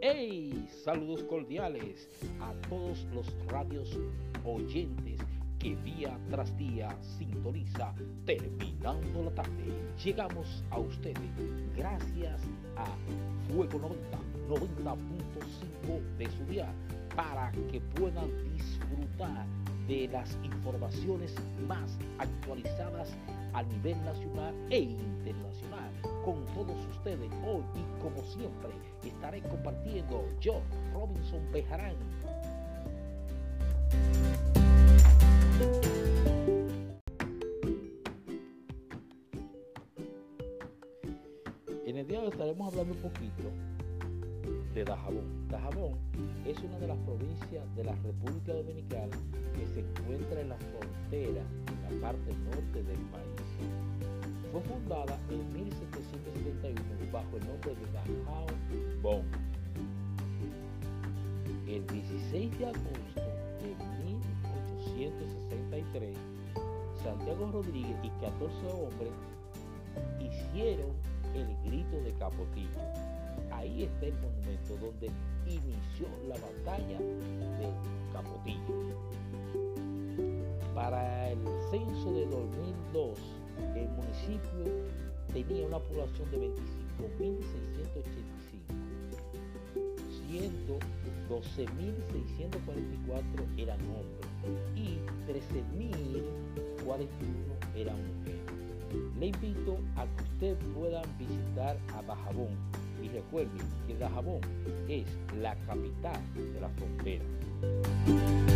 ¡Hey! Saludos cordiales a todos los radios oyentes que día tras día sintoniza terminando la tarde. Llegamos a ustedes gracias a Fuego 90.5 de su día para que puedan disfrutar de las informaciones más actualizadas a nivel nacional e internacional con todos ustedes. Hoy y como siempre estaré compartiendo yo, Robinson Bejarán. En el día de hoy estaremos hablando un poquito de Dajabón. Dajabón es una de las provincias de la República Dominicana que se encuentra en la frontera, en la parte norte del país. Fue fundada en 1771 bajo el nombre de Dajabón. El 16 de agosto de 1863, Santiago Rodríguez y 14 hombres hicieron el grito de Capotillo. Ahí está el monumento donde inició la batalla de Capotillo. Para el censo de 2002, el municipio tenía una población de 25.685, siendo 12.644 eran hombres y 13.041 eran mujeres. Le invito a que ustedes puedan visitar a Dajabón y recuerden que Dajabón es la capital de la frontera.